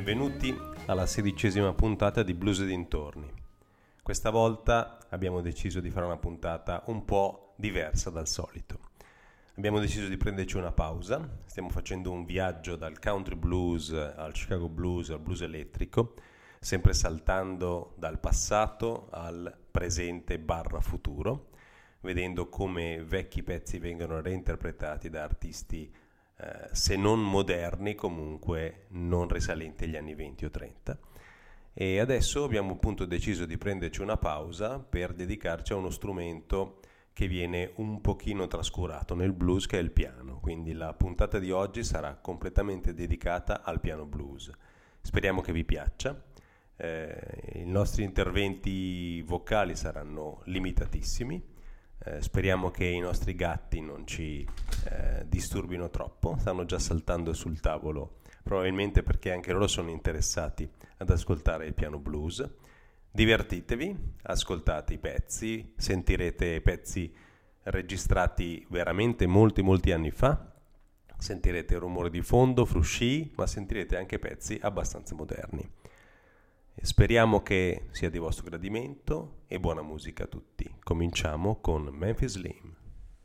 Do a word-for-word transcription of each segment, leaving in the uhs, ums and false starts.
Benvenuti alla sedicesima puntata di Blues e dintorni. Questa volta abbiamo deciso di fare una puntata un po' diversa dal solito. Abbiamo deciso di prenderci una pausa, stiamo facendo un viaggio dal country blues al Chicago blues al blues elettrico, sempre saltando dal passato al presente barra futuro, vedendo come vecchi pezzi vengono reinterpretati da artisti eh, se non moderni, comunque non risalenti agli anni venti o trenta. E adesso abbiamo appunto deciso di prenderci una pausa per dedicarci a uno strumento che viene un pochino trascurato nel blues, che è il piano. Quindi la puntata di oggi sarà completamente dedicata al piano blues. Speriamo che vi piaccia. Eh, i nostri interventi vocali saranno limitatissimi. Eh, speriamo che i nostri gatti non ci eh, disturbino troppo. Stanno già saltando sul tavolo, probabilmente perché anche loro sono interessati ad ascoltare il piano blues. Divertitevi, ascoltate i pezzi, sentirete pezzi registrati veramente molti molti anni fa, sentirete rumore di fondo, frusci, ma sentirete anche pezzi abbastanza moderni. Speriamo che sia di vostro gradimento e buona musica a tutti. Cominciamo con Memphis Slim.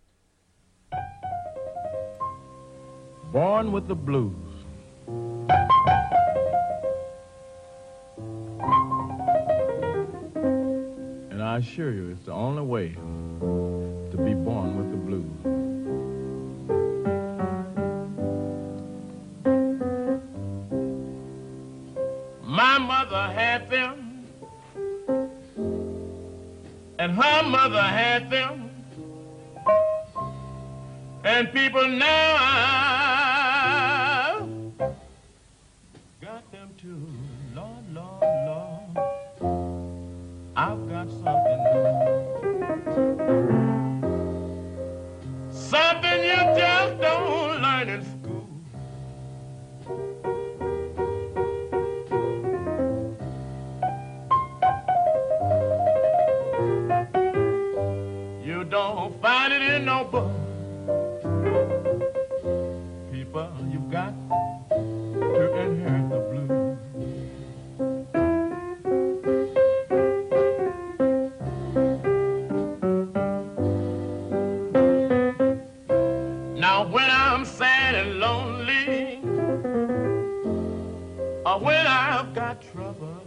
Born with the blues. And I assure you, it's the only way to be born with the blues. My mother had them, and her mother had them, and people now got them too. Lord, Lord, Lord, I've got something, something you just don't learn in school. You don't find it in no book. People, you've got to inherit the blues. Now when I'm sad and lonely, or when I've got trouble,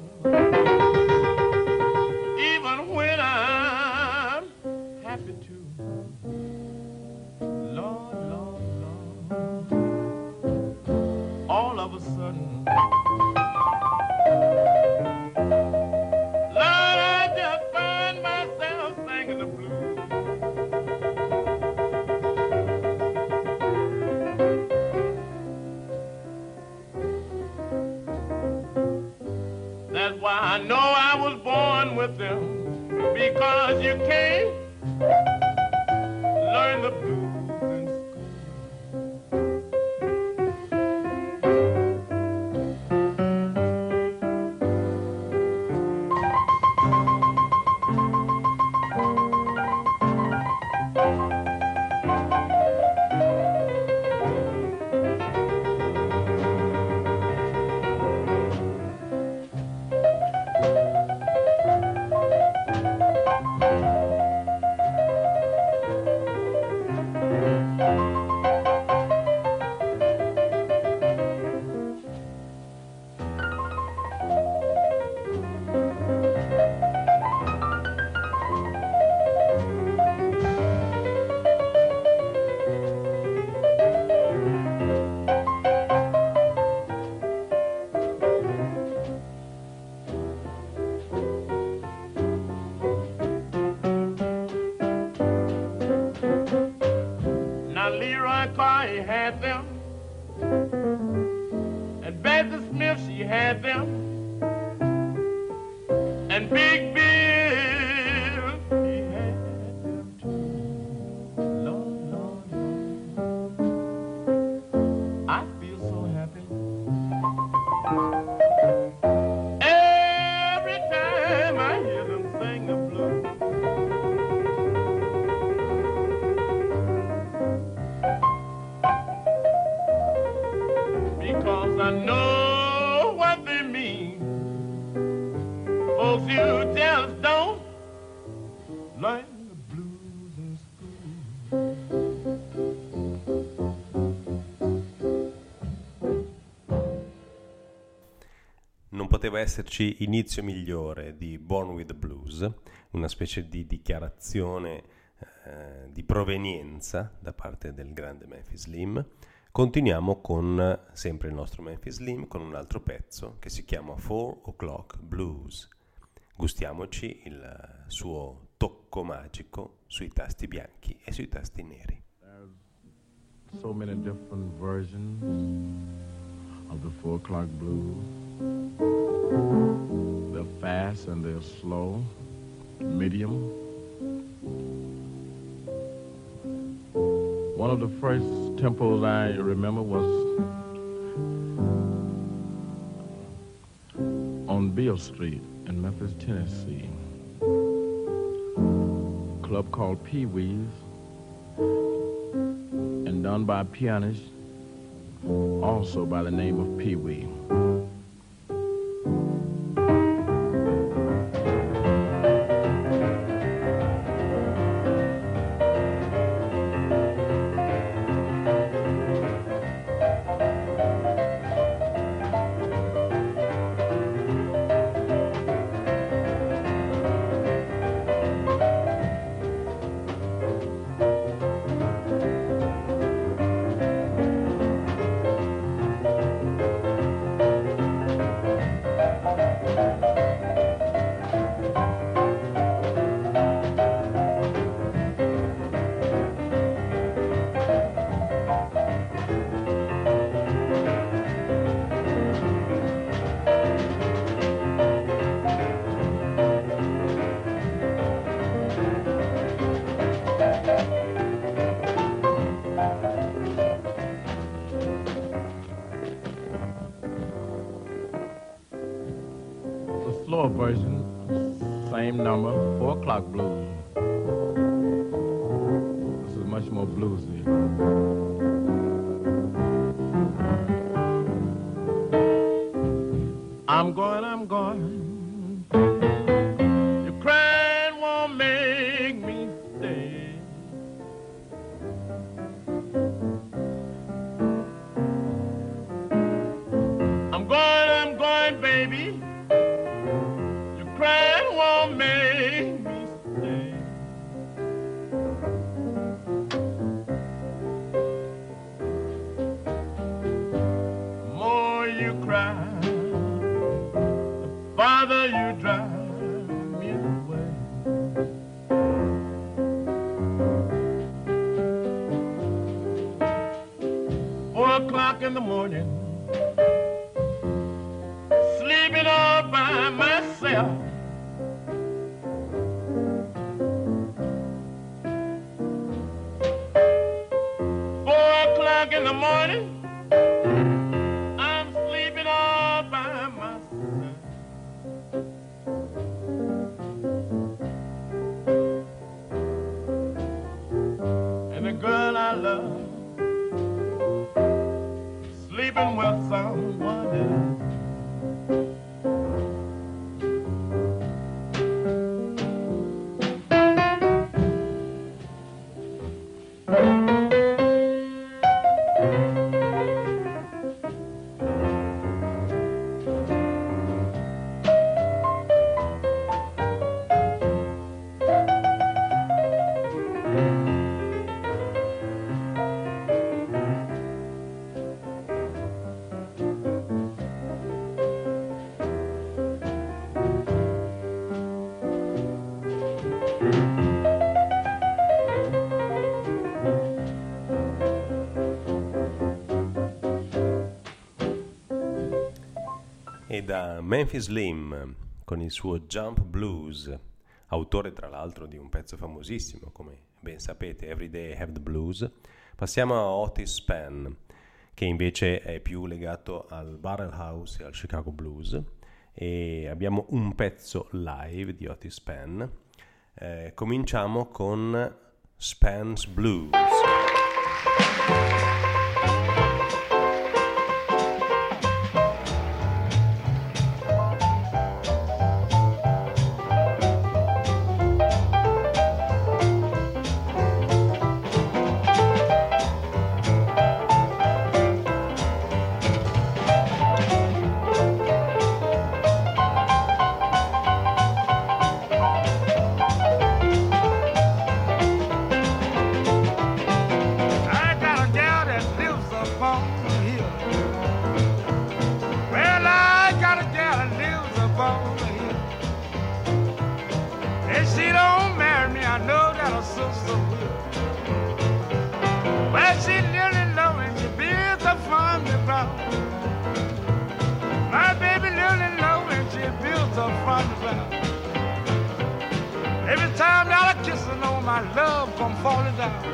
even when I'm happy too, Lord, Lord, Lord, all of a sudden, Lord, I just find myself singing the blues. That's why I know I was born with them, because you can't learn the blues in school. Leroy Carr had them, and Bessie Smith, she had them, and Big Bill, he had them too. Lord, Lord, Lord, I feel so happy every time I hear them sing the blues. Because I know what they poteva esserci inizio migliore di Born with the Blues, una specie di dichiarazione eh, di provenienza da parte del grande Memphis Slim. Continuiamo con sempre il nostro Memphis Slim, con un altro pezzo che si chiama Four O'Clock Blues. Gustiamoci il suo tocco magico sui tasti bianchi e sui tasti neri. There's so many different versions of the Four O'Clock Blues. They're fast and they're slow, medium. One of the first tempos I remember was on Beale Street in Memphis, Tennessee. A club called Pee Wee's, and done by a pianist also by the name of Pee Wee. Version, same number, Four O'Clock Blues. This is much more bluesy. I'm going, I'm going. Your crying won't make me stay. I'm going, I'm going, baby. Crying won't make me stay. The more you cry, the farther you drive me away. Four o'clock in the morning, sleeping all by myself. In the morning, I'm sleeping all by myself. And the girl I love sleeping with someone else. E da Memphis Slim con il suo Jump Blues, autore tra l'altro di un pezzo famosissimo, come ben sapete, Every Day I Have the Blues, passiamo a Otis Spann, che invece è più legato al Barrel House e al Chicago Blues, e abbiamo un pezzo live di Otis Spann. Eh, cominciamo con Spann's Blues. Well, she really low and she built up from the ground. My baby really low and she built up from the ground. Every time that I kiss her, know my love come falling down.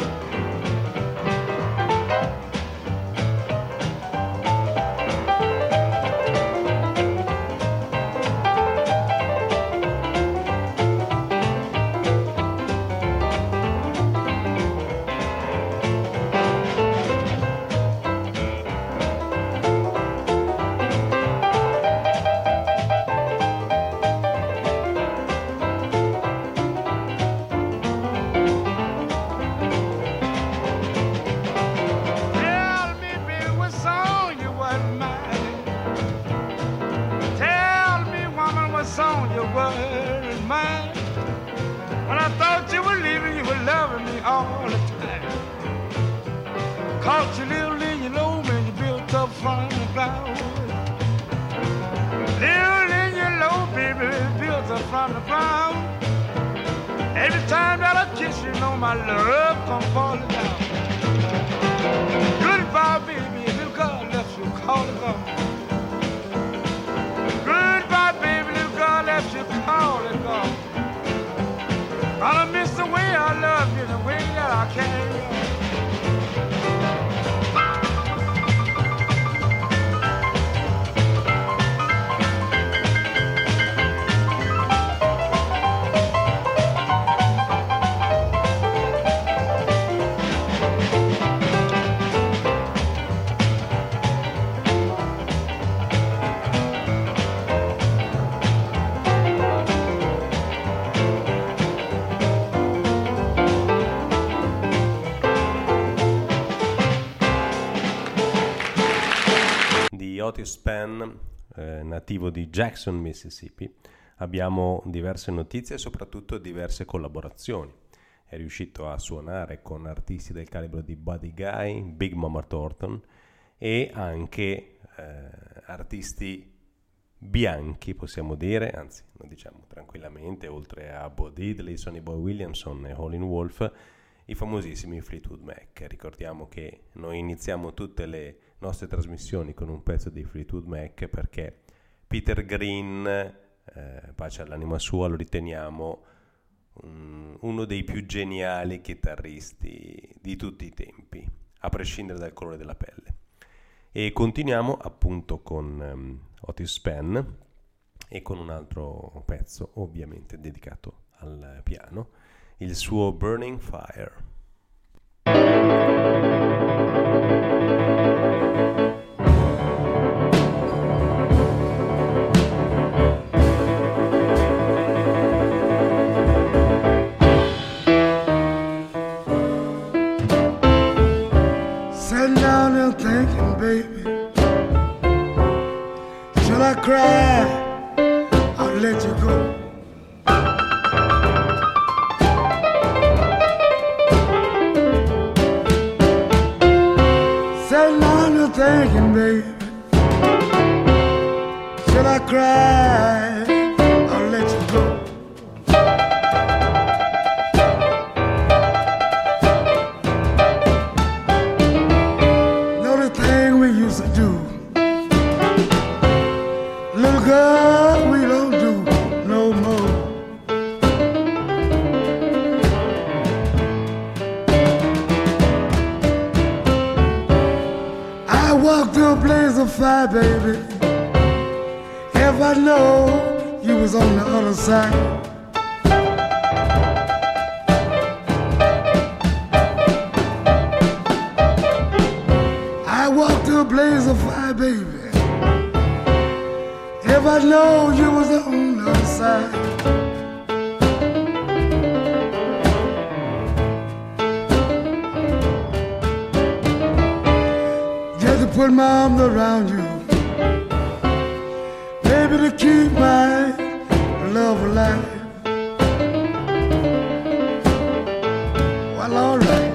From the ground. Every time that I kiss you, know my love come falling down. Goodbye, baby, little girl left you calling gone. Goodbye, baby, little girl left you calling gone. I miss the way I love you, the way that I carry on. Otis Spann, eh, nativo di Jackson, Mississippi, abbiamo diverse notizie e soprattutto diverse collaborazioni. È riuscito a suonare con artisti del calibro di Buddy Guy, Big Mama Thornton e anche eh, artisti bianchi, possiamo dire, anzi lo diciamo tranquillamente, oltre a Bo Diddley, Sonny Boy Williamson e Howlin' Wolf, i famosissimi Fleetwood Mac. Ricordiamo che noi iniziamo tutte le nostre trasmissioni con un pezzo di Fleetwood Mac perché Peter Green, eh, pace all'anima sua, lo riteniamo um, uno dei più geniali chitarristi di tutti i tempi, a prescindere dal colore della pelle. E continuiamo appunto con um, Otis Spann e con un altro pezzo ovviamente dedicato al piano, il suo Burning Fire. Sitting down there thinking, baby, till I cry, I'll let you go. Thinking, baby, till I cry, I'll let you go. Know the thing we used to do, little girl, we don't do no more. I walked through a blaze of fire, baby, if I know you was on the other side. I walked through a blaze of fire, baby, if I know you was on the other side. Put my arms around you, baby, to keep my love alive. Well, all right.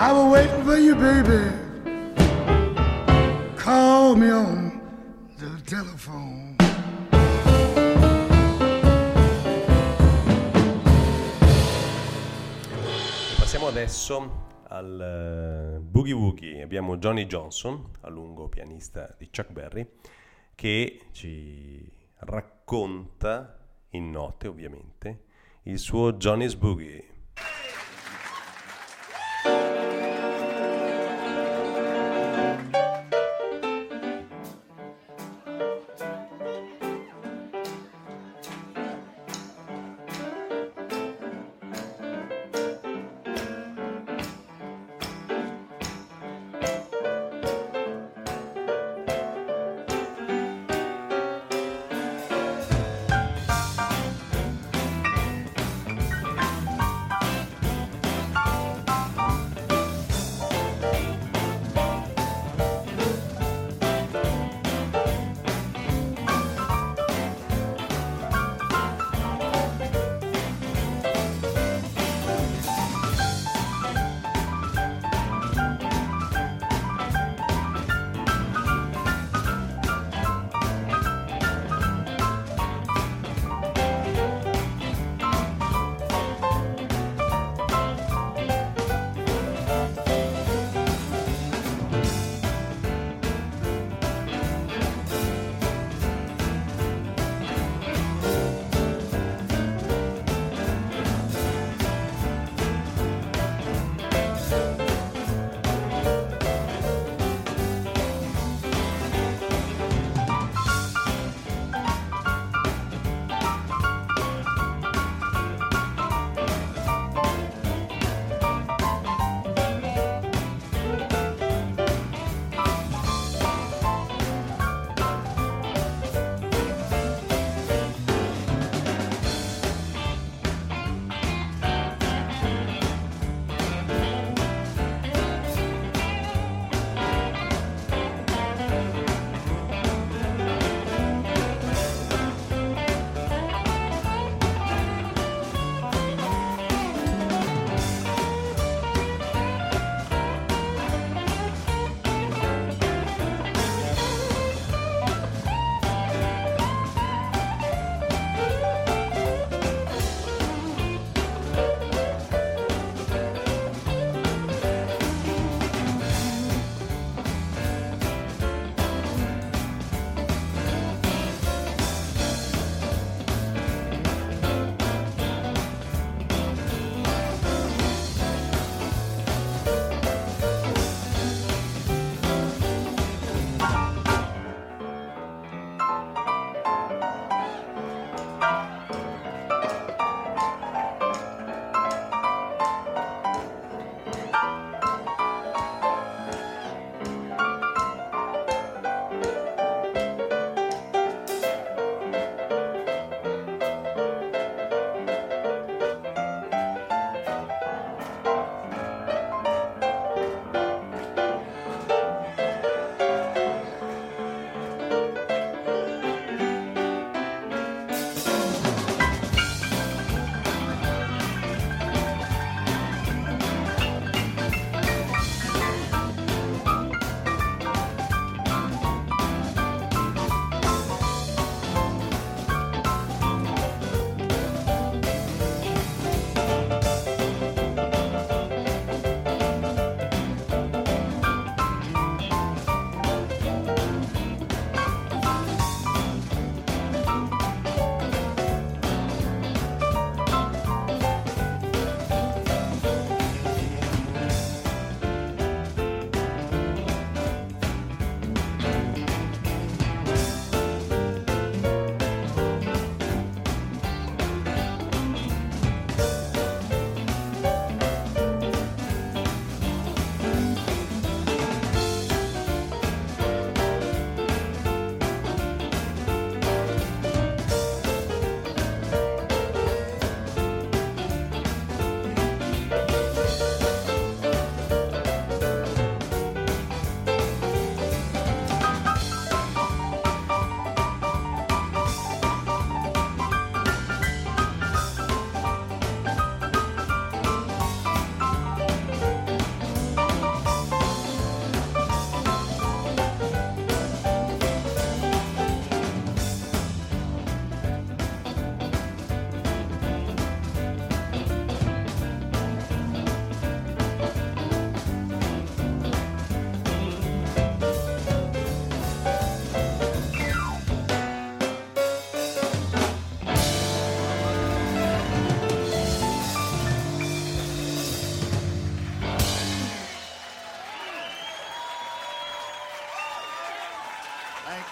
I was waiting for you, baby. Call me on the telephone. E passiamo adesso al uh, Boogie Woogie. Abbiamo Johnny Johnson, a lungo pianista di Chuck Berry, che ci racconta, in note ovviamente, il suo Johnny's Boogie.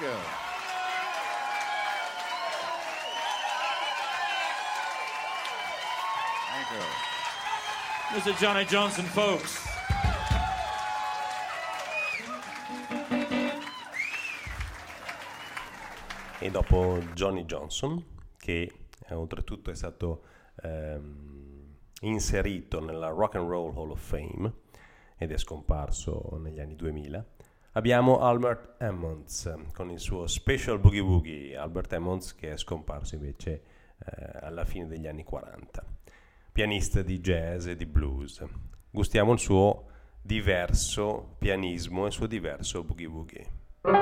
you. Thank you. Mister Johnny Johnson, folks. E dopo Johnny Johnson, che eh, oltretutto è stato ehm, inserito nella Rock and Roll Hall of Fame ed è scomparso negli anni duemila, abbiamo Albert Emmons con il suo Special Boogie Woogie. Albert Emmons che è scomparso invece eh, alla fine degli anni quaranta, pianista di jazz e di blues. Gustiamo il suo diverso pianismo e il suo diverso boogie woogie.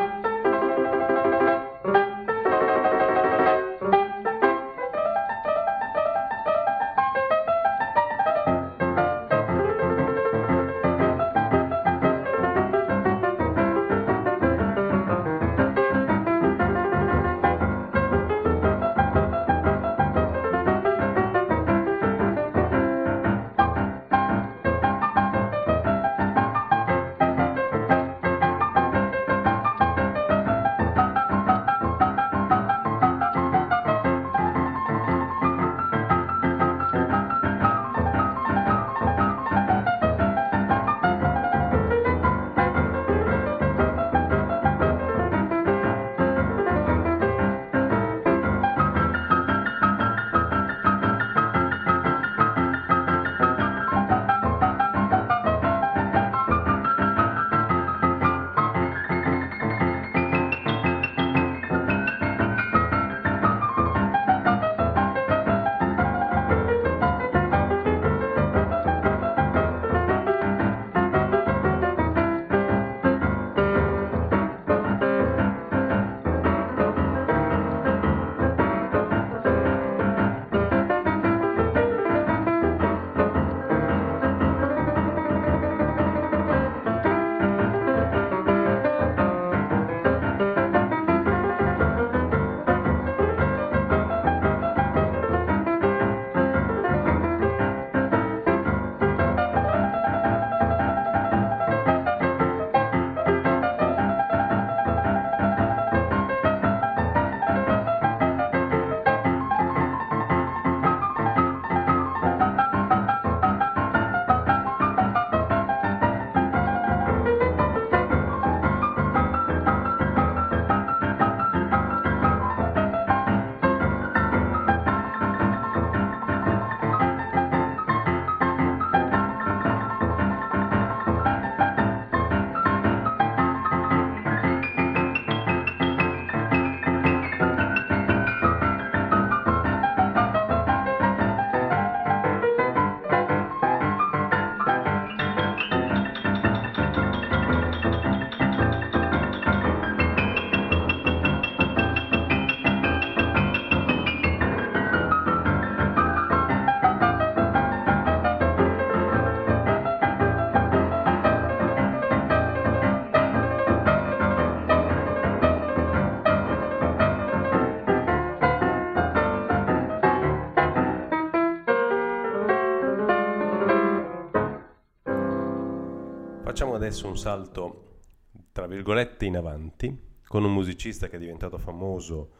Facciamo adesso un salto, tra virgolette, in avanti, con un musicista che è diventato famoso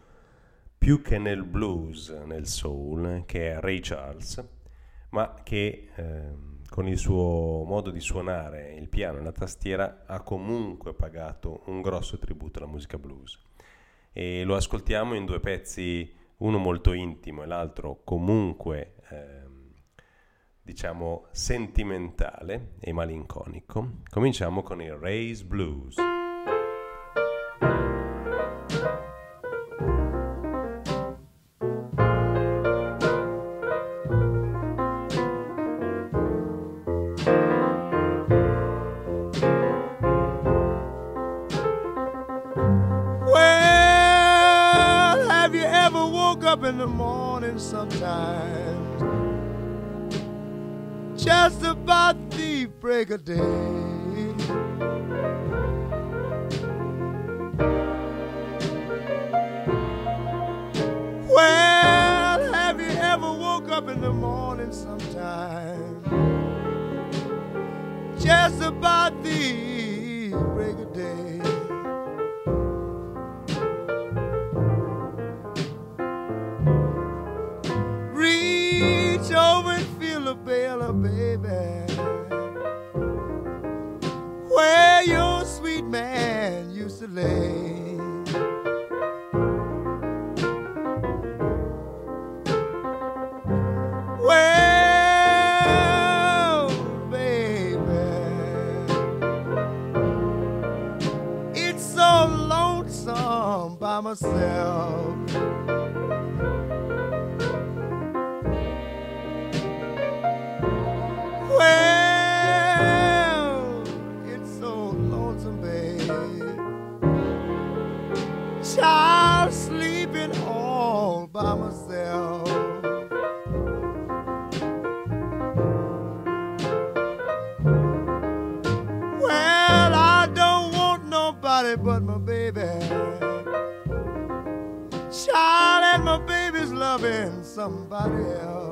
più che nel blues, nel soul, che è Ray Charles, ma che eh, con il suo modo di suonare il piano e la tastiera ha comunque pagato un grosso tributo alla musica blues. E lo ascoltiamo in due pezzi, uno molto intimo e l'altro comunque eh, diciamo sentimentale e malinconico. Cominciamo con il Ray's Blues. Well, have you ever woke up in the morning sometimes, just about the break of day? Well, have you ever woke up in the morning sometime, just about the break of day? where your sweet man used to lay. Well, baby, it's so lonesome by myself. Well, it's so lonesome, babe. Child sleeping all by myself. Well, I don't want nobody but my baby. Child, and my baby's loving somebody else.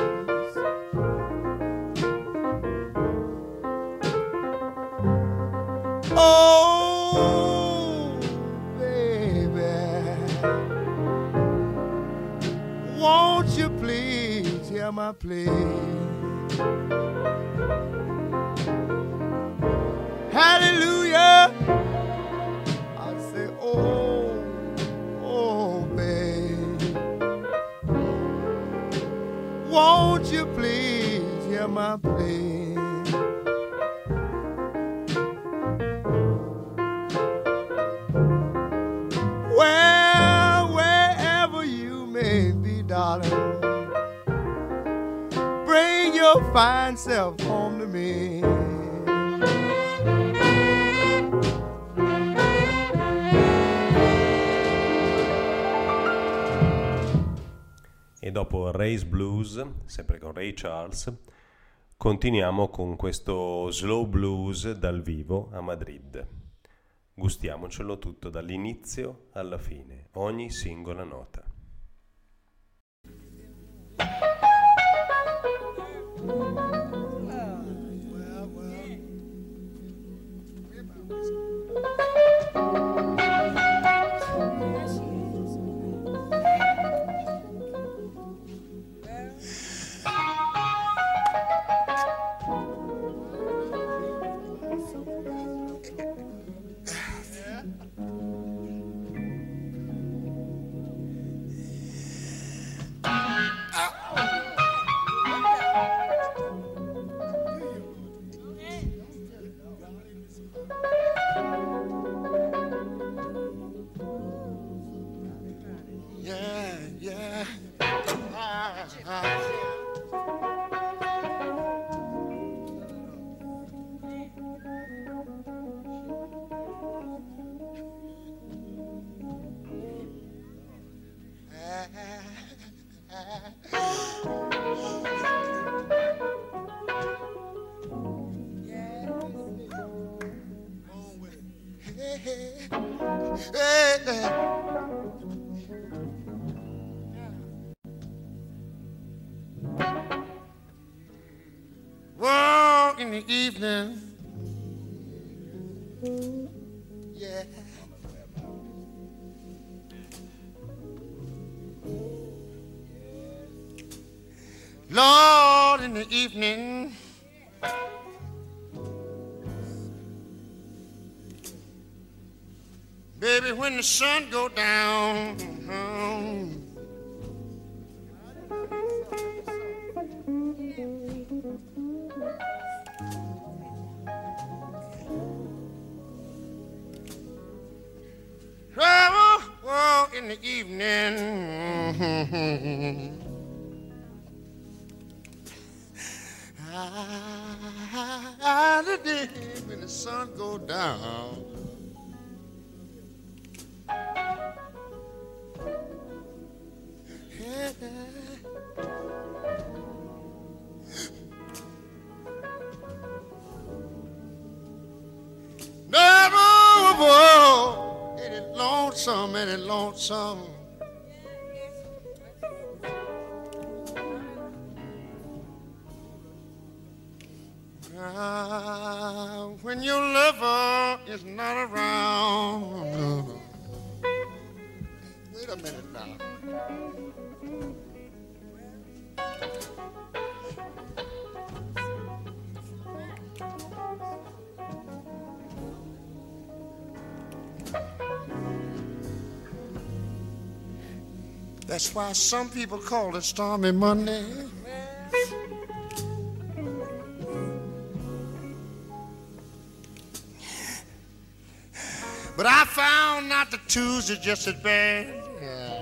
Oh, baby, won't you please hear my plea? Hallelujah, I say, oh, oh, babe, won't you please hear my plea? Well, wherever you may be, darling, bring your fine self home to me. E dopo Ray's Blues, sempre con Ray Charles, continuiamo con questo slow blues dal vivo a Madrid. Gustiamocelo tutto dall'inizio alla fine, ogni singola nota. Well, in the evening, yeah. Lord, in the evening, baby, when the sun go down, um, well, well, in the evening, ah, the day when the sun go down. Yeah. Never, whoa, ain't it lonesome, ain't it lonesome? Ah, when your lover is not around. Wait a minute now. That's why some people call it Stormy Monday. But I found out that Tuesday just as bad. Yeah.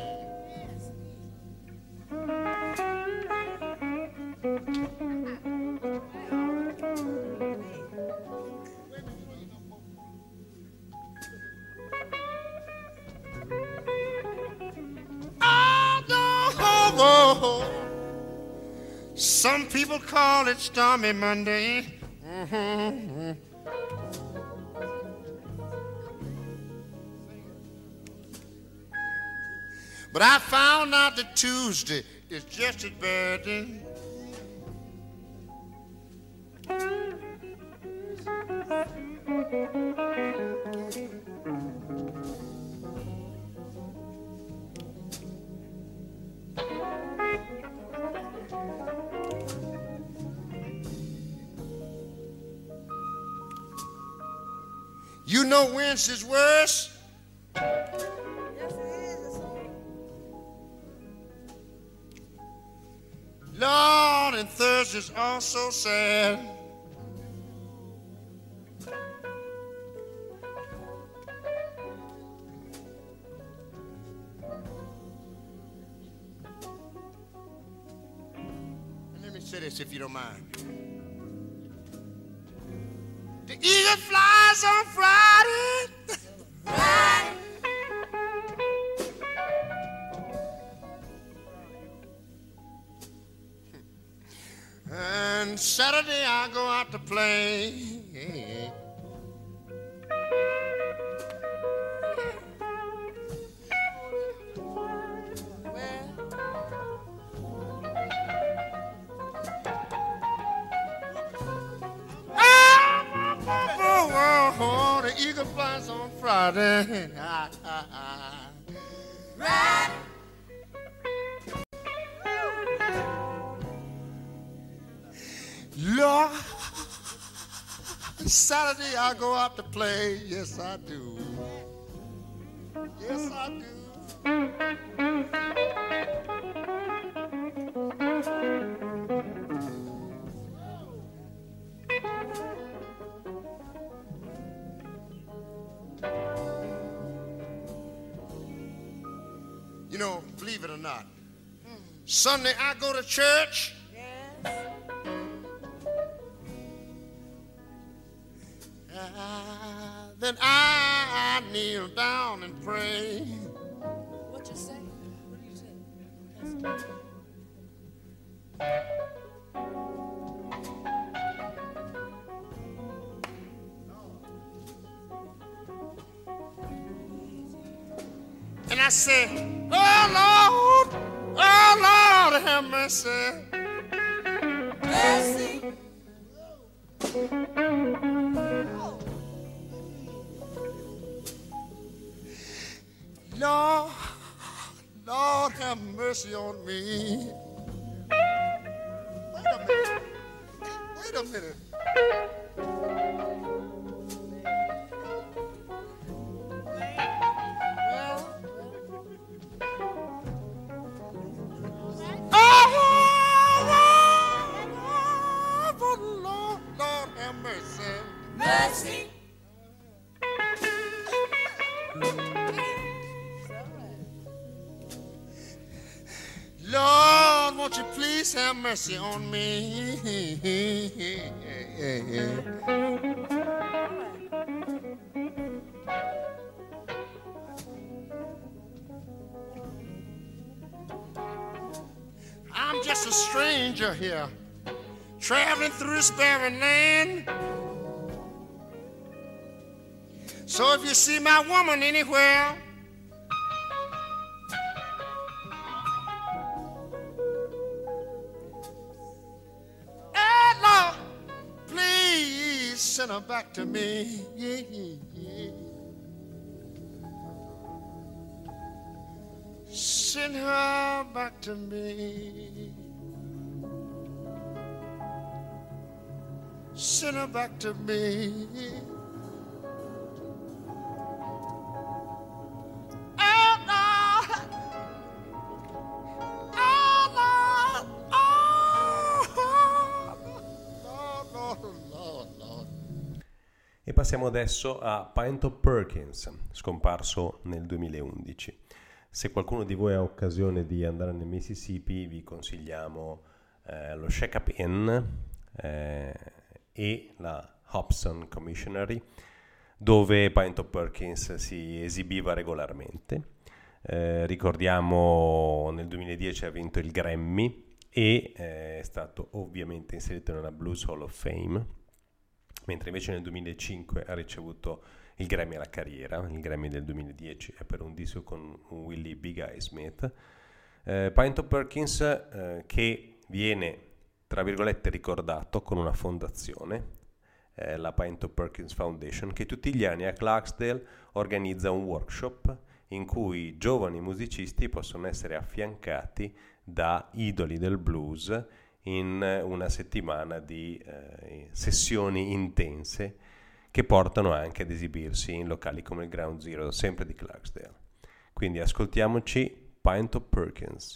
Oh, some people call it Stormy Monday. Mm-hmm. But I found out that Tuesday is just as bad. You know Wednesday's worse. Lord, and Thursday's also sad. Let me say this if you don't mind. The eagle flies on Friday. Friday. And Saturday I go out to play. Oh, the eagle flies on Friday. Right. Lord, Saturday I go out to play. Yes, I do. Yes, I do. You know, believe it or not, Sunday I go to church. Uh, then I, I kneel down and pray. What you say? What do you say? And I say, oh Lord, oh Lord, have mercy. Mercy. Lord, Lord, have mercy on me. Wait a minute. Wait a minute. Oh, Lord, Lord, Lord, have mercy. Mercy. Lord, won't you please have mercy on me? I'm just a stranger here, traveling through this barren land. So if you see my woman anywhere, send her back to me. Yeah, yeah. Send her back to me. Send her back to me. Oh, no. E passiamo adesso a Pinto Perkins, scomparso nel duemilaundici. Se qualcuno di voi ha occasione di andare nel Mississippi, vi consigliamo eh, lo Shakopee Inn eh, e la Hobson Commissionery, dove Pinto Perkins si esibiva regolarmente. Eh, ricordiamo nel duemiladieci ha vinto il Grammy e eh, è stato ovviamente inserito nella Blues Hall of Fame, mentre invece nel duemilacinque ha ricevuto il Grammy alla carriera. Il Grammy del duemiladieci è per un disco con Willie Big Eye Smith. Eh, Pinto Perkins eh, che viene, tra virgolette, ricordato con una fondazione, eh, la Pinto Perkins Foundation, che tutti gli anni a Clarksdale organizza un workshop in cui giovani musicisti possono essere affiancati da idoli del blues in una settimana di eh, sessioni intense che portano anche ad esibirsi in locali come il Ground Zero, sempre di Clarksdale. Quindi ascoltiamoci Pinto Perkins.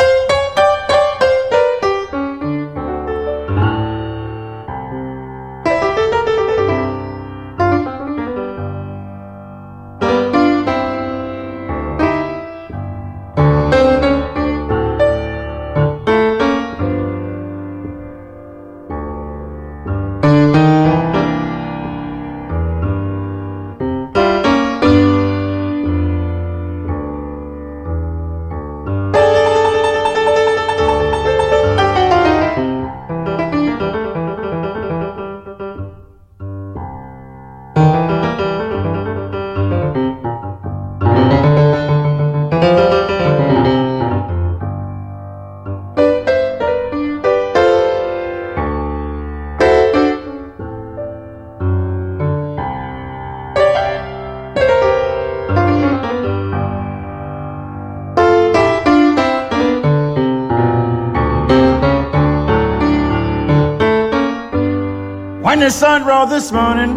When the sun rose this morning,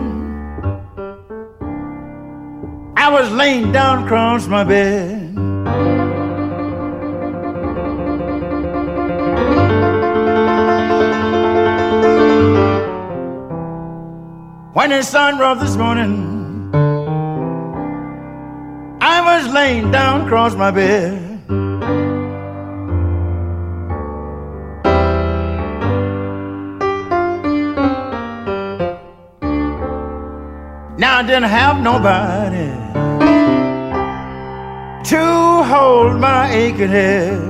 I was laying down across my bed. When the sun rose this morning, I was laying down across my bed. Now I didn't have nobody to hold my aching head.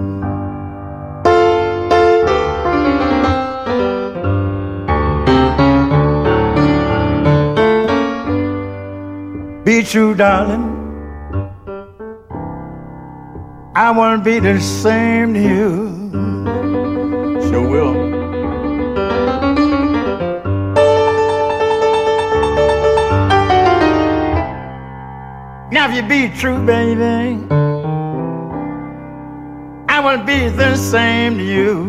Be true, darling, I wanna be the same to you. Sure will. Now if you be true, baby, I wanna be the same to you.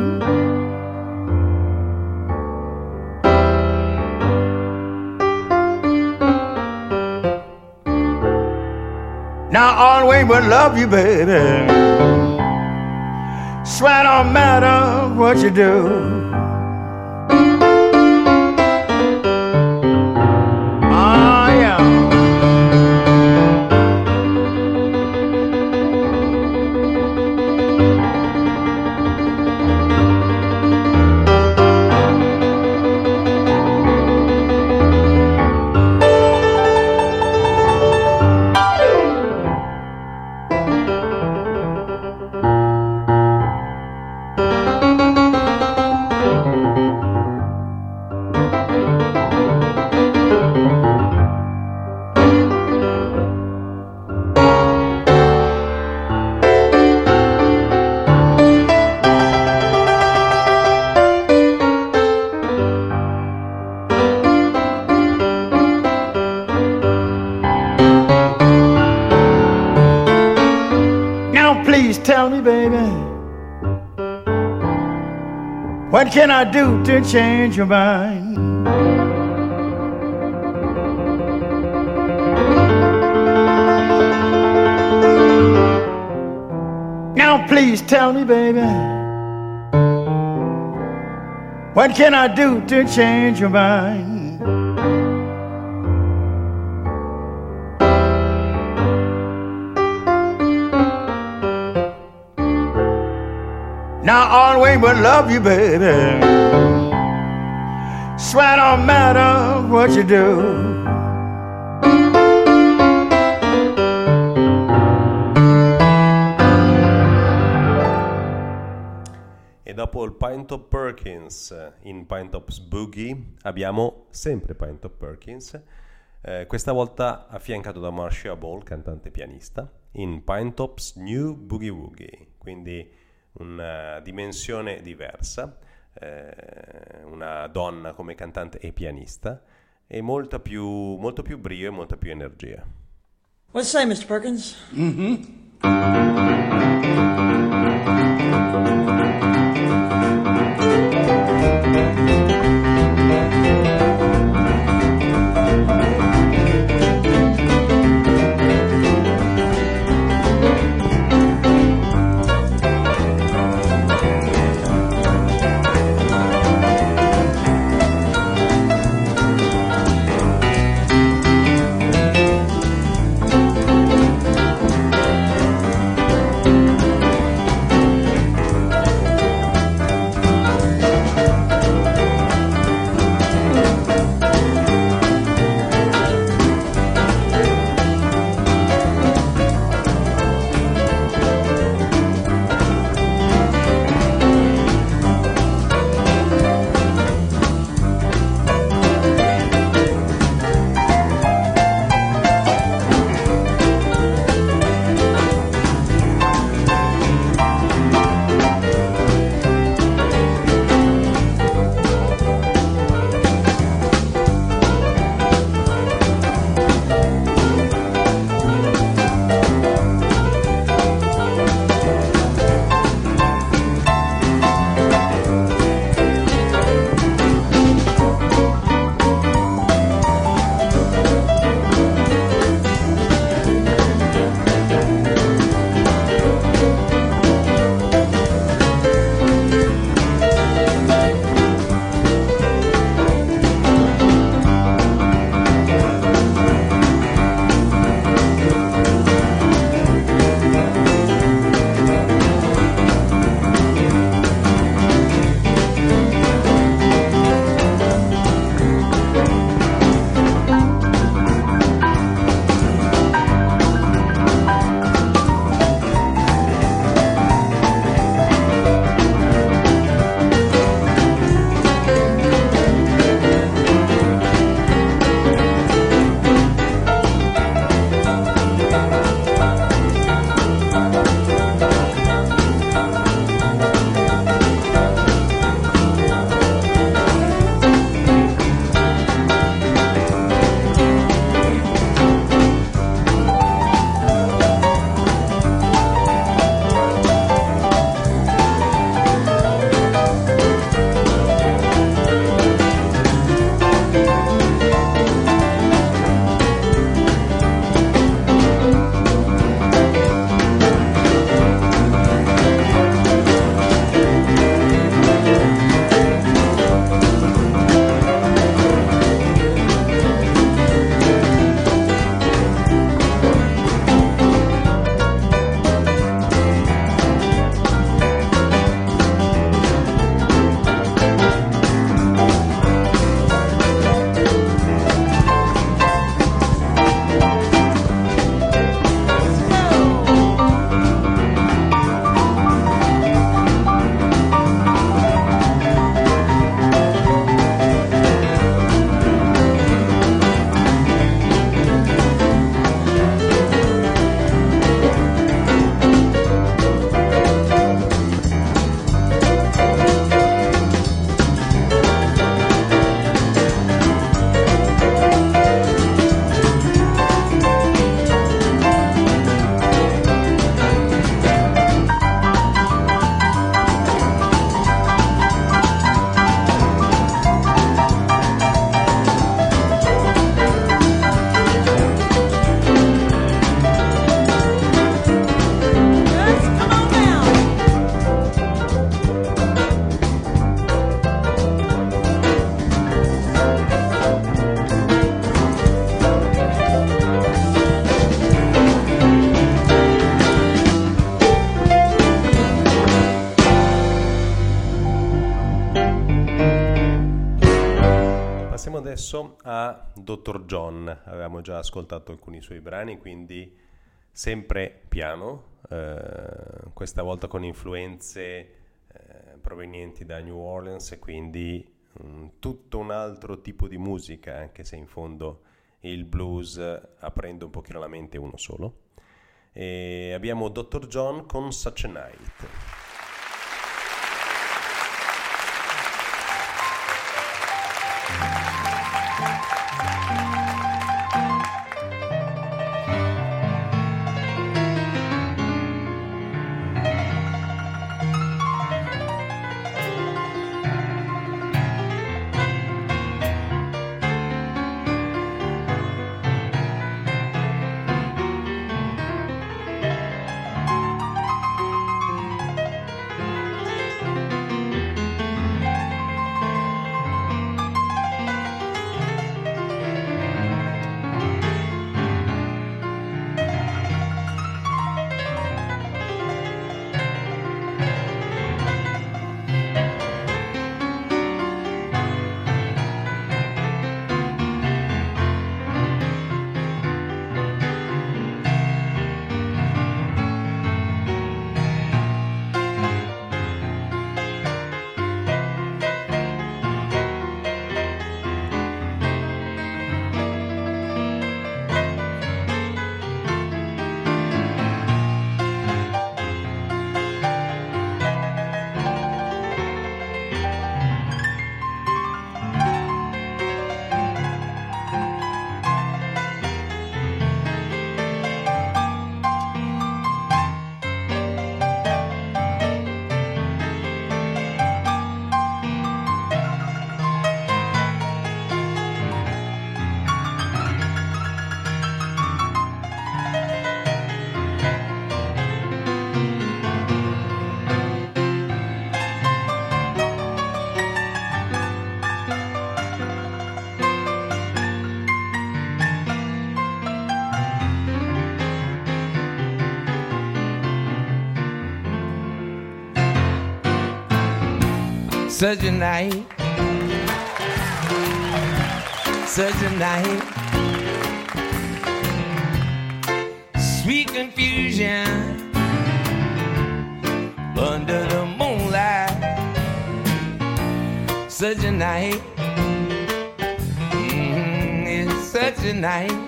Now I always would love you, baby. Swear don't matter what you do. Tell me, baby, what can I do to change your mind? Now please tell me, baby, what can I do to change your mind? I always will love you, baby. Swear don't matter what you do. E dopo il Pinetop Perkins in Pinetop's Boogie abbiamo sempre Pinetop Perkins, eh, questa volta affiancato da Marcia Ball, cantante e pianista, in Pinetop's New Boogie Woogie, quindi una dimensione diversa, eh, una donna come cantante e pianista e molta più, molto più brio e molta più energia. What say, mister Perkins? Mm-hmm. adesso a Doctor John. Avevamo già ascoltato alcuni suoi brani, quindi sempre piano, eh, questa volta con influenze eh, provenienti da New Orleans e quindi um, tutto un altro tipo di musica, anche se in fondo il blues aprendo un pochino la mente uno solo. E abbiamo Doctor John con Such a Night. Such a night, such a night, sweet confusion under the moonlight. Such a night, mm-hmm, it's such a night.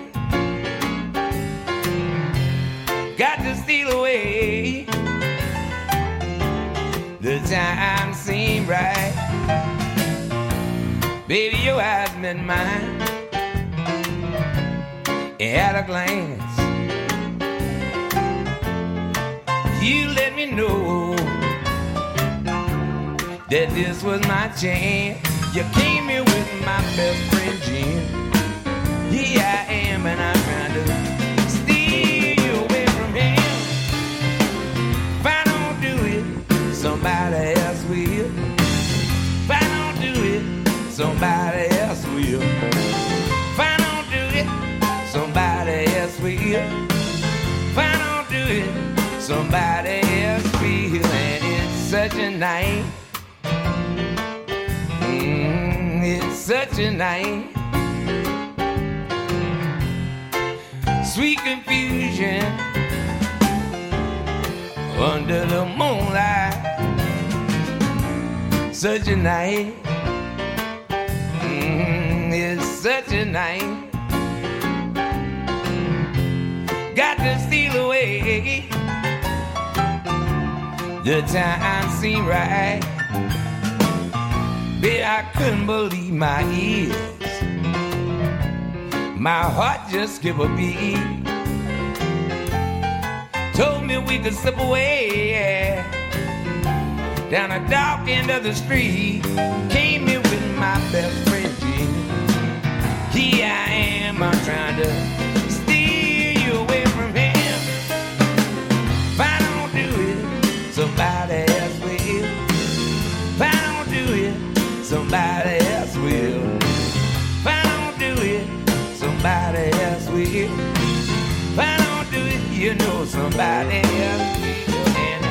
Got to steal away. The time seemed right. Baby, your eyes met mine at a glance. You let me know that this was my chance. You came here with my best friend Jim. Here I am and I'm trying to steal you away from him. If I don't do it, somebody else will. If I don't do it, somebody else will. If I don't do it, somebody else will. If I don't do it, somebody else will. And it's such a night. Mm, it's such a night. Sweet confusion under the moonlight. Such a night, mm, it's such a night. Got to steal away. The time seemed right. Baby, I couldn't believe my ears. My heart just skipped a beat. Told me we could slip away, yeah, down a dark end of the street. Came here with my best friend Jim. Here I am, I'm trying to steal you away from him. If I don't do it, somebody else will. If I don't do it, somebody else will. If I don't do it, somebody else will. If I don't do it, you know somebody else will. And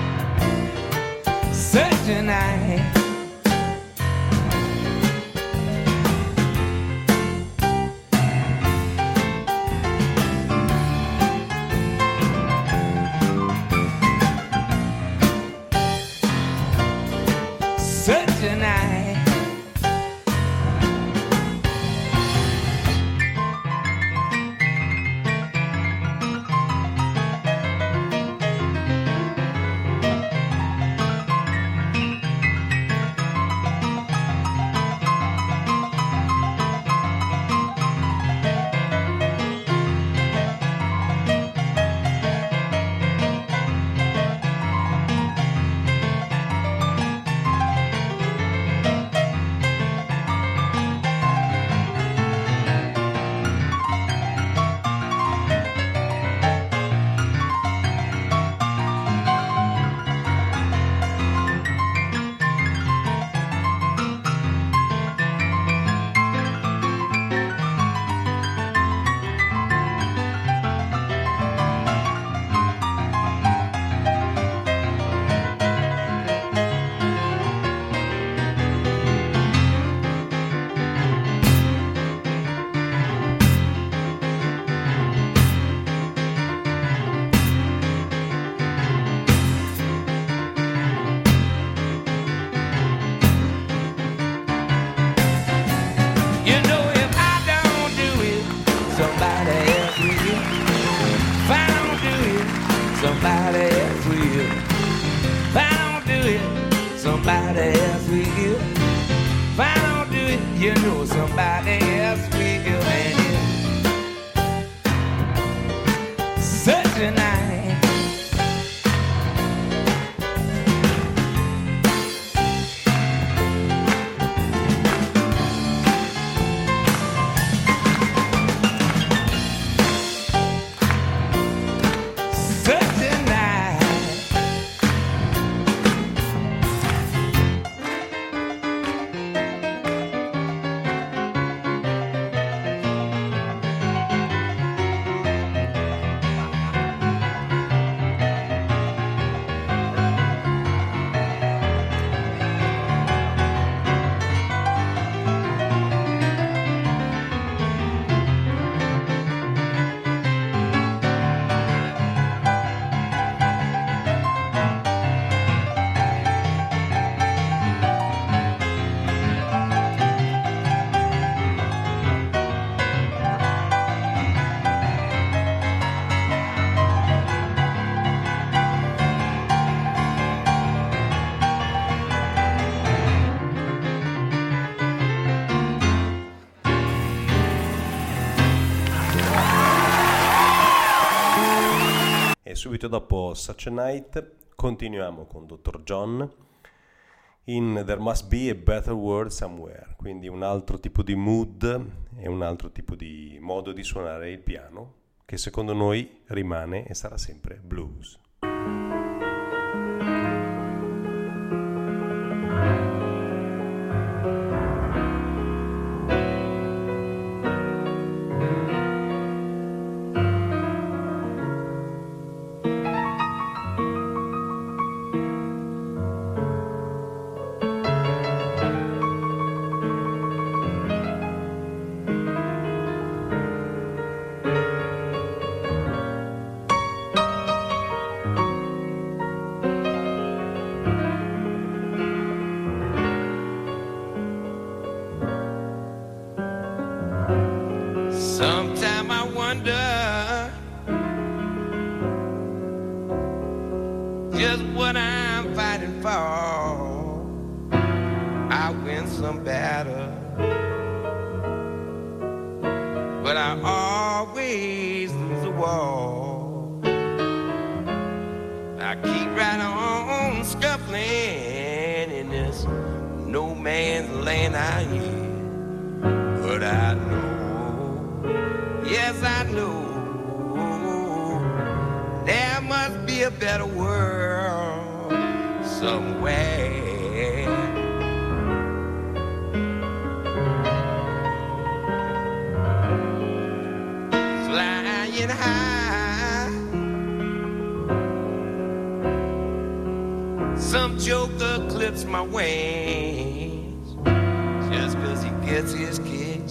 such a night, somebody else will, and it's such a night. Subito dopo Such a Night continuiamo con dottor John in There Must Be a Better World Somewhere, quindi un altro tipo di mood e un altro tipo di modo di suonare il piano che secondo noi rimane e sarà sempre blues. Sometime I wonder just what I'm fighting for. I win some battle, but I always lose a war. I keep right on scuffling in this no man's land out here, but I know, yes I know, there must be a better world somewhere. Flying high, some joker clips my wings just 'cause he gets his kicks.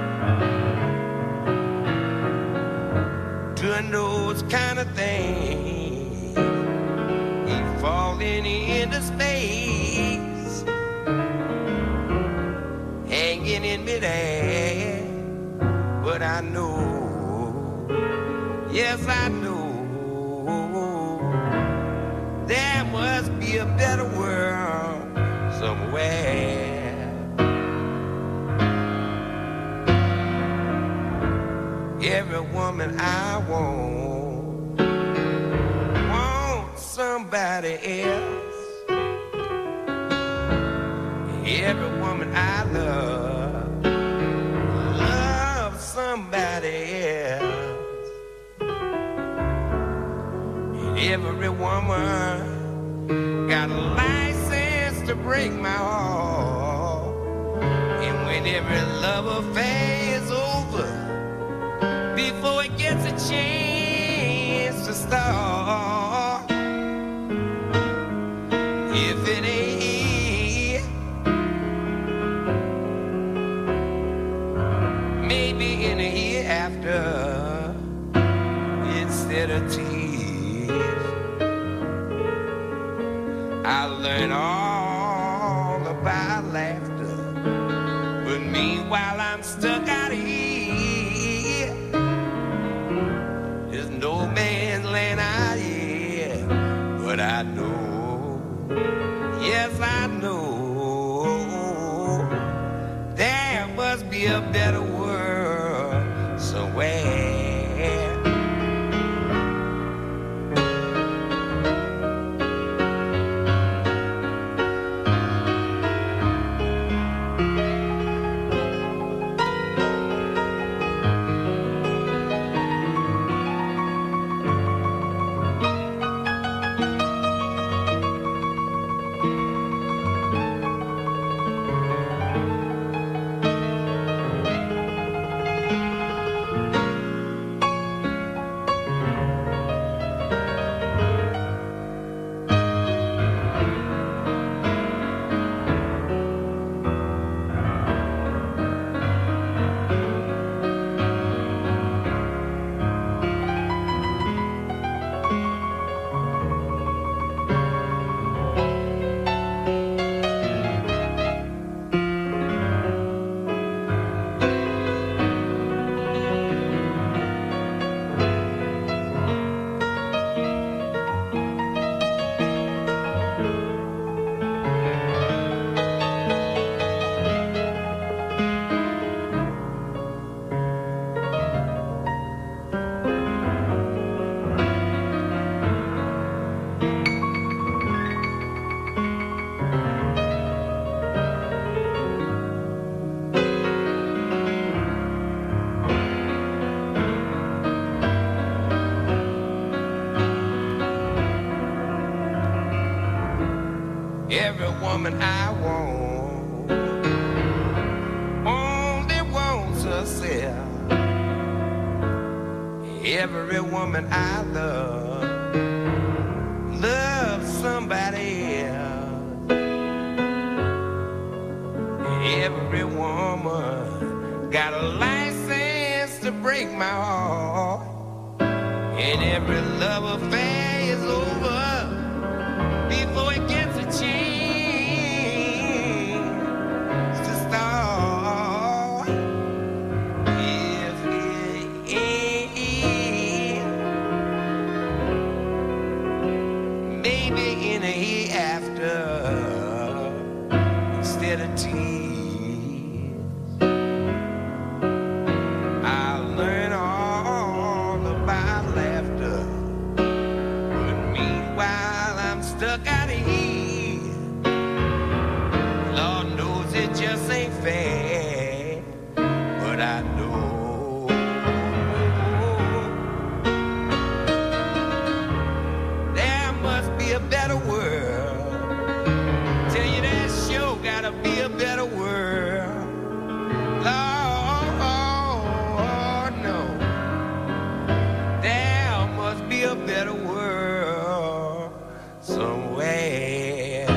Doing those kind of things, he's falling into space, hanging in midair. But I know, yes I know, there must be a better world somewhere. Every woman I want, want somebody else. Every woman I love, love somebody else. And every woman got a license to break my heart. And when every love affair is over, before it gets a chance to start, if it ain't here, maybe in a year after, instead of tears, I learned all about laughter. But meanwhile I'm stuck out here, there's no man's land out here. But I know, yes I know, there must be a better better world somewhere. Every woman I want only wants herself. Every woman I love loves somebody else. Every woman got a license to break my heart, and every love affair is over before it gets a chance to start. If it ends, maybe in a hereafter instead of tears, I'll learn all about laughter. But meanwhile, I'm stuck out of here. Lord knows it just ain't fair, but I know there must be a better world. Tell you that sure gotta be a better world. Lord, no, there must be a better world somewhere.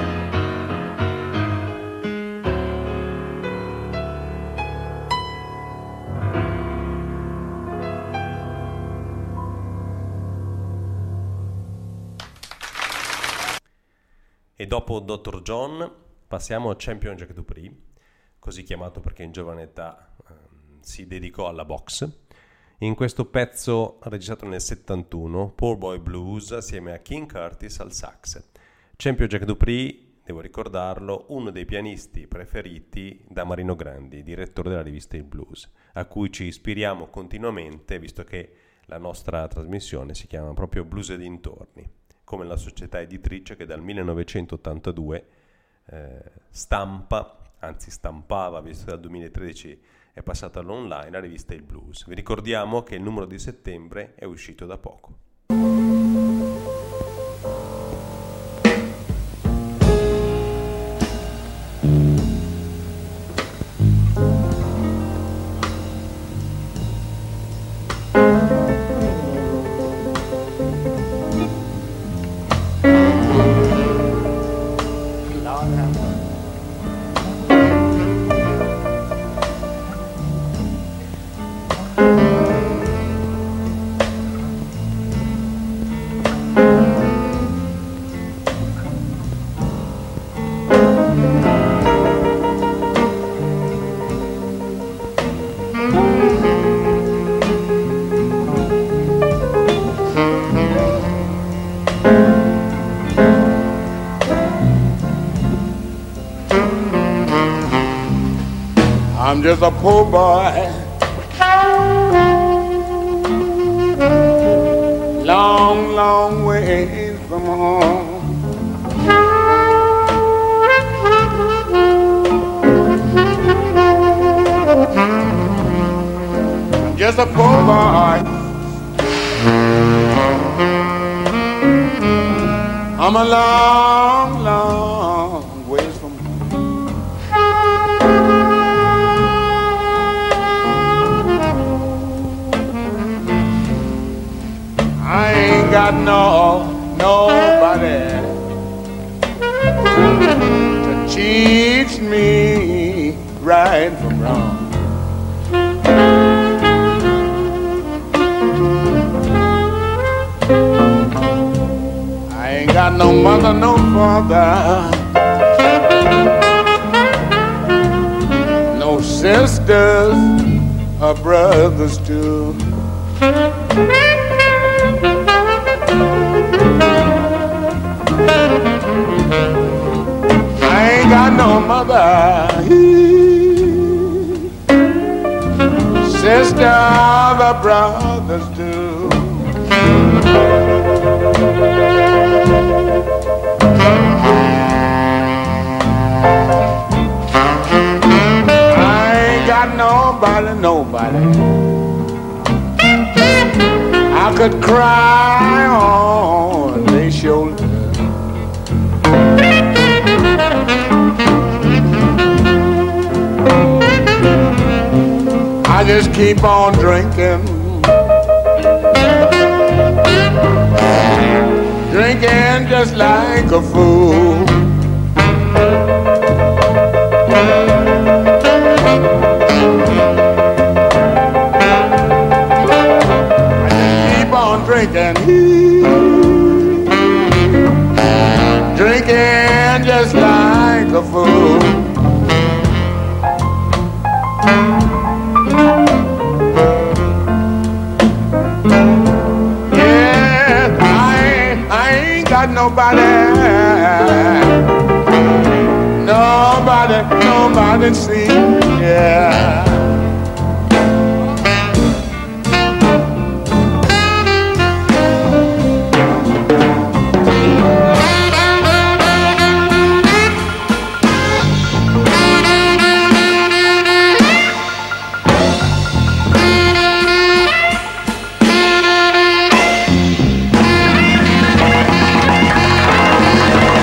E dopo dottor John passiamo a Champion Jack Dupree, così chiamato perché in giovane età ehm, si dedicò alla boxe. In questo pezzo registrato nel settantuno, Poor Boy Blues assieme a King Curtis al sax. Champion Jack Dupree, devo ricordarlo, uno dei pianisti preferiti da Marino Grandi, direttore della rivista Il Blues, a cui ci ispiriamo continuamente, visto che la nostra trasmissione si chiama proprio Blues e dintorni, come la società editrice che dal millenovecentottantadue eh, stampa, anzi stampava, visto che dal duemilatredici è passata all'online, la rivista Il Blues. Vi ricordiamo che il numero di settembre è uscito da poco. just a poor boy, long, long way from home. I'm just a poor boy. I'm a long, long ways from home. I ain't got no, nobody to teach me right from wrong. Got no mother, no father, no sisters or brothers too. I ain't got no mother, sisters or brothers too. Nobody, nobody I could cry on their shoulder. I just keep on drinking, drinking just like a fool. Drinking, drinking just like a fool. Yeah, I, I ain't got nobody, nobody, nobody to see. Yeah.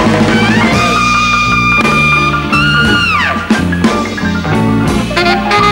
Thank you.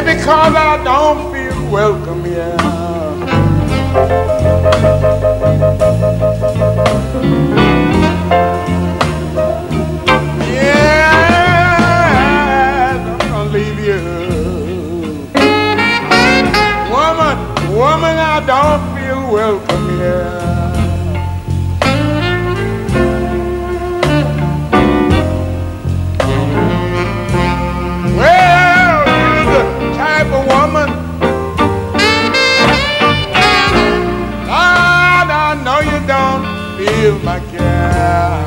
Maybe because I don't feel welcome here. Yeah, I'm gonna leave you. Woman, woman, I don't feel welcome here. Woman, Lord, I know you don't feel my care.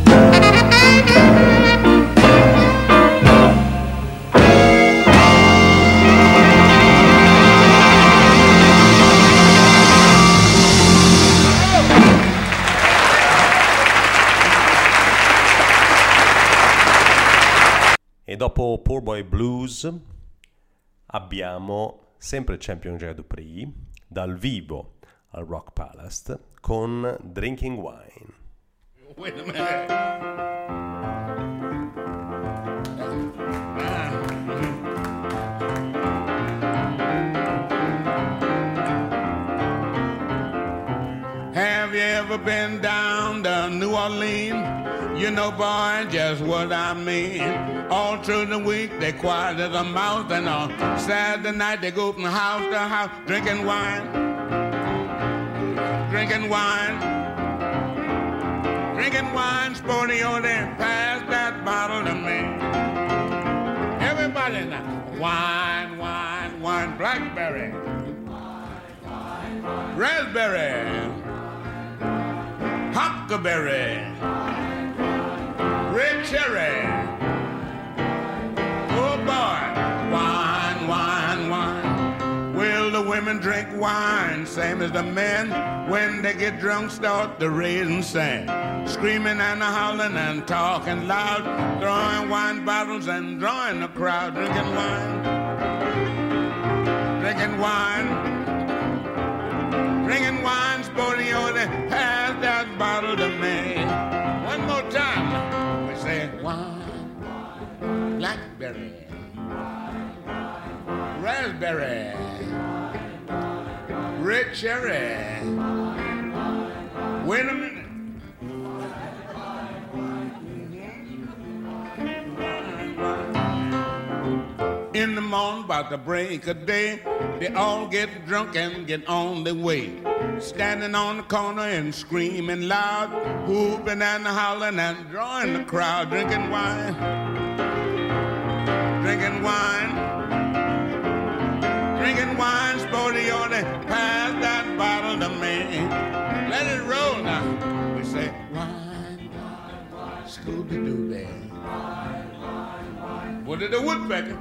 E dopo Poor Boy Blues abbiamo sempre Champion Jack Dupree dal vivo al Rock Palace con Drinking Wine. Wait a minute. Have you ever been down to New Orleans? You know, boy, just what I mean. All through the week, they quiet as a mouse, and on Saturday night, they go from house to house, drinking wine, drinking wine, drinking wine, sporty on there, pass that bottle to me. Everybody now, wine, wine, wine, blackberry, raspberry, huckleberry, red cherry. Oh boy, wine, wine, wine. Well, the women drink wine, same as the men. When they get drunk, start to raise and sing, screaming and hollering and talking loud, throwing wine bottles and drawing the crowd, drinking wine, drinking wine, drinking wine, sporty on it, pass that bottle to me. One more time, we say wine, blackberry, raspberry, red cherry. Wait a minute. In the morning, about the break of day, they all get drunk and get on their way, standing on the corner and screaming loud, whooping and hollering and drawing the crowd, drinking wine, drinking wine, drinking wine, sporty on it, pass that bottle to me. Let it roll now. We say wine, wine, wine, Scooby-Doo. What did the woodpecker?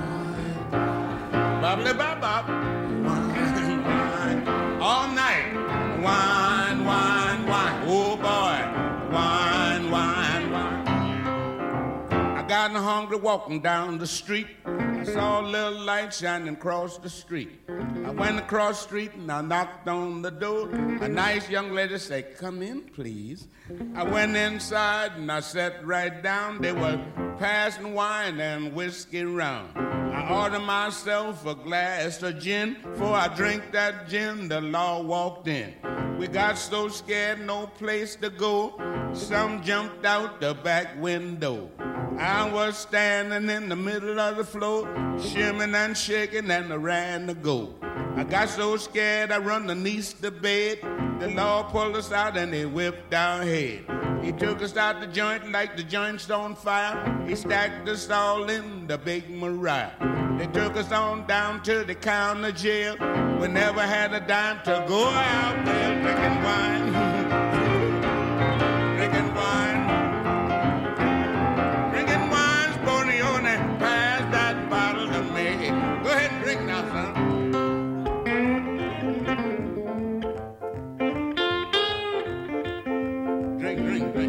Bobbly bop bop. Wine, wine. All night. Wine, wine, wine. Oh boy. Wine, wine, wine. I got hungry walking down the street. I saw a little light shining across the street. I went across the street and I knocked on the door. A nice young lady said, "Come in, please." I went inside and I sat right down. They were passing wine and whiskey round. I ordered myself a glass of gin. Before I drink that gin, the law walked in. We got so scared, no place to go. Some jumped out the back window. I was standing in the middle of the floor, shimming and shaking, and I ran to go. I got so scared I run underneath the bed. The law pulled us out and they whipped our head. He took us out the joint like the joint's on fire. He stacked us all in the big Mariah. They took us on down to the county jail. We never had a dime to go out there drinking wine. Drinking wine. Drinking wine, Sponione, pass that bottle to me. Go ahead and drink now, son. Drink, drink, drink.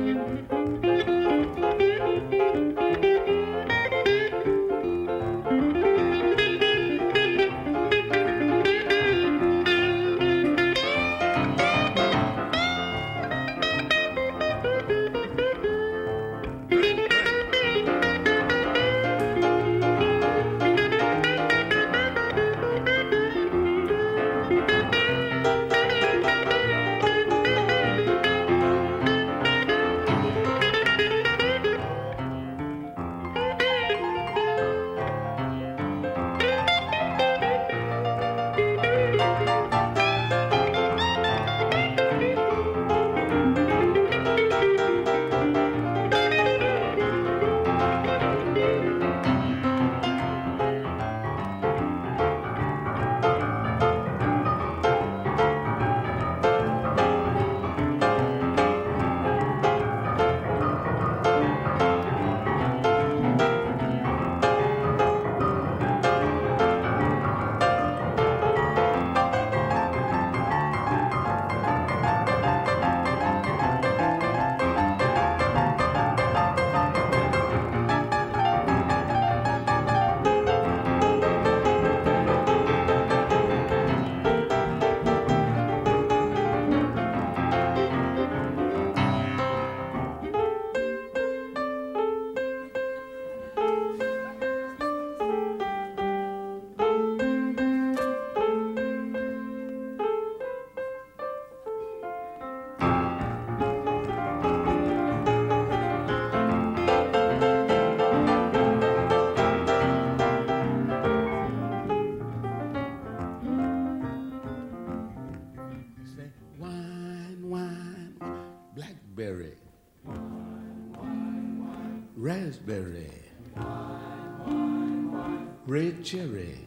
berry, raspberry, red cherry,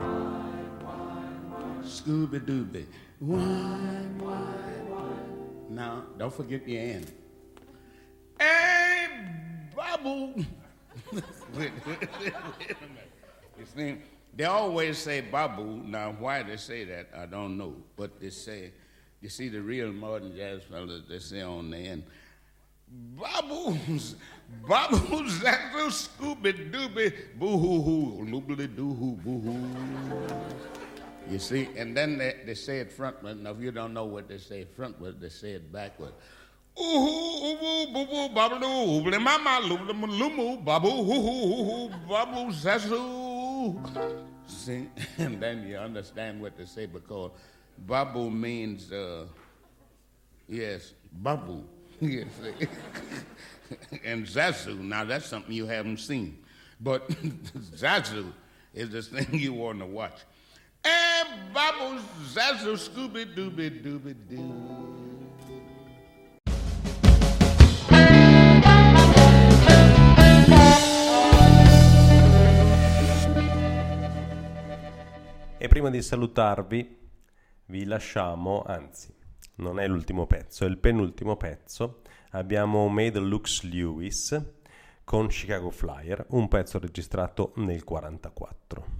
Scooby Dooby, wine, wine, wine. Now, don't forget your end. Hey, Babu. wait, wait, wait, wait a minute. You see, they always say Babu. Now, why they say that, I don't know. But they say, you see the real modern jazz fellas, they say on the end, Babu's, Babu's, that's a Scooby Dooby, boo hoo hoo, loobly doo hoo, boo hoo. You see, and then they, they say it frontward. Now, if you don't know what they say frontward, they say it backward. Ooh hoo, ooh boo boo, babu doo, oobly mama, loobly lumu, babu hoo hoo hoo hoo, babu zazu. See, and then you understand what they say because babu means, uh, yes, babu. You see. And zazu, now that's something you haven't seen. But zazu is the thing you want to watch. And babu zazu, scooby dooby dooby doo. E prima di salutarvi vi lasciamo, anzi non è l'ultimo pezzo, è il penultimo pezzo. Abbiamo Made Lux Lewis con Chicago Flyer, un pezzo registrato nel quarantaquattro.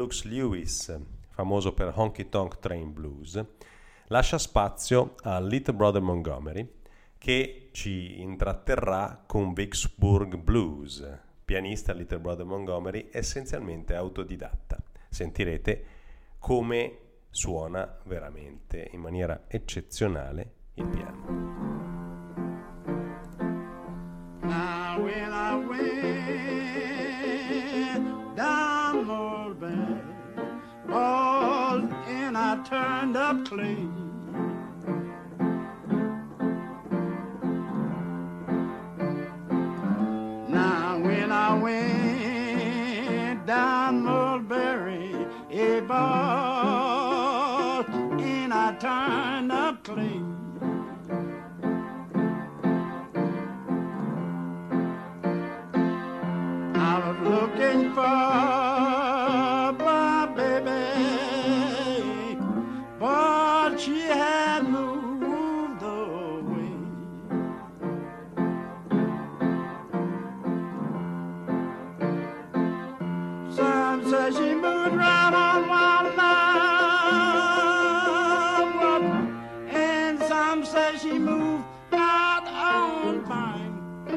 Brooks Lewis, famoso per Honky Tonk Train Blues, lascia spazio a Little Brother Montgomery, che ci intratterrà con Vicksburg Blues. Pianista Little Brother Montgomery, essenzialmente autodidatta. Sentirete come suona veramente in maniera eccezionale il piano. Now when I went down Mulberry Ball and I turned up clean, now when I went down Mulberry Ball and I turned up clean, I was looking for my baby, but she had moved away. Some say she moved right on Walnut, and some say she moved out on Pine.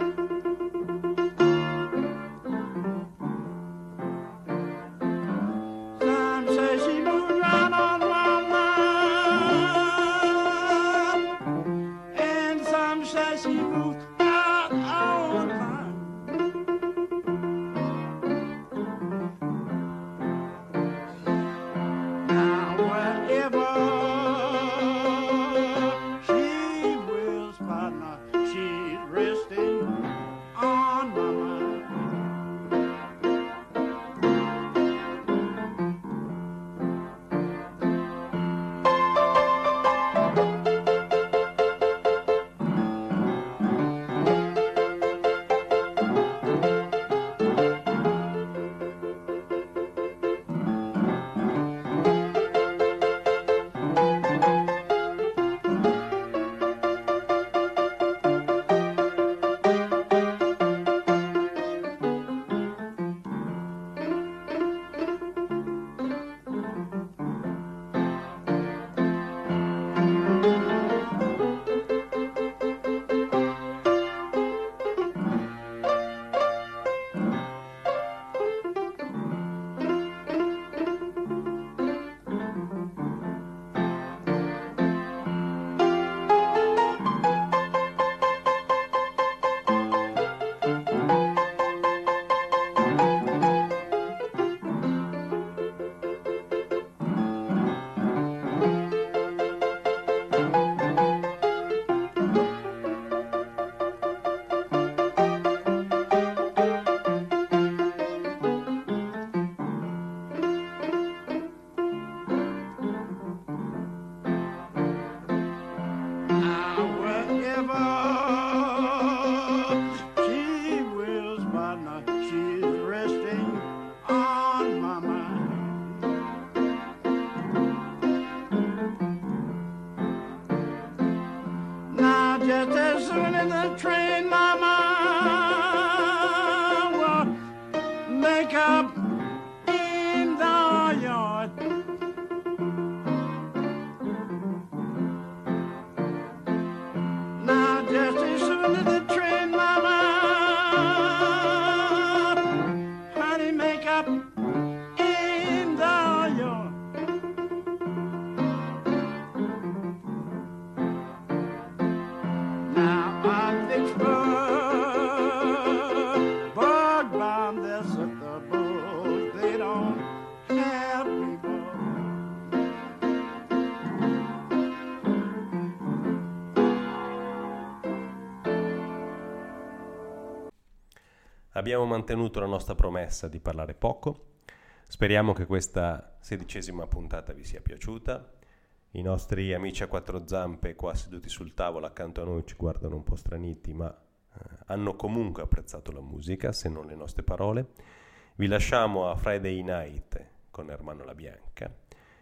Abbiamo mantenuto la nostra promessa di parlare poco. Speriamo che questa sedicesima puntata vi sia piaciuta. I nostri amici a quattro zampe qua seduti sul tavolo accanto a noi ci guardano un po' straniti, ma eh, hanno comunque apprezzato la musica, se non le nostre parole. Vi lasciamo a Friday Night con Ermanno La Bianca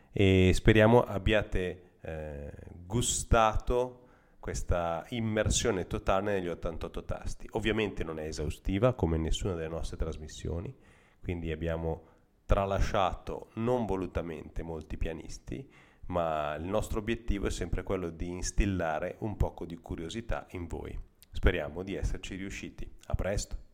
e speriamo abbiate eh, gustato questa immersione totale negli ottantotto tasti. Ovviamente non è esaustiva come nessuna delle nostre trasmissioni, quindi abbiamo tralasciato non volutamente molti pianisti, ma il nostro obiettivo è sempre quello di instillare un poco di curiosità in voi. Speriamo di esserci riusciti. A presto!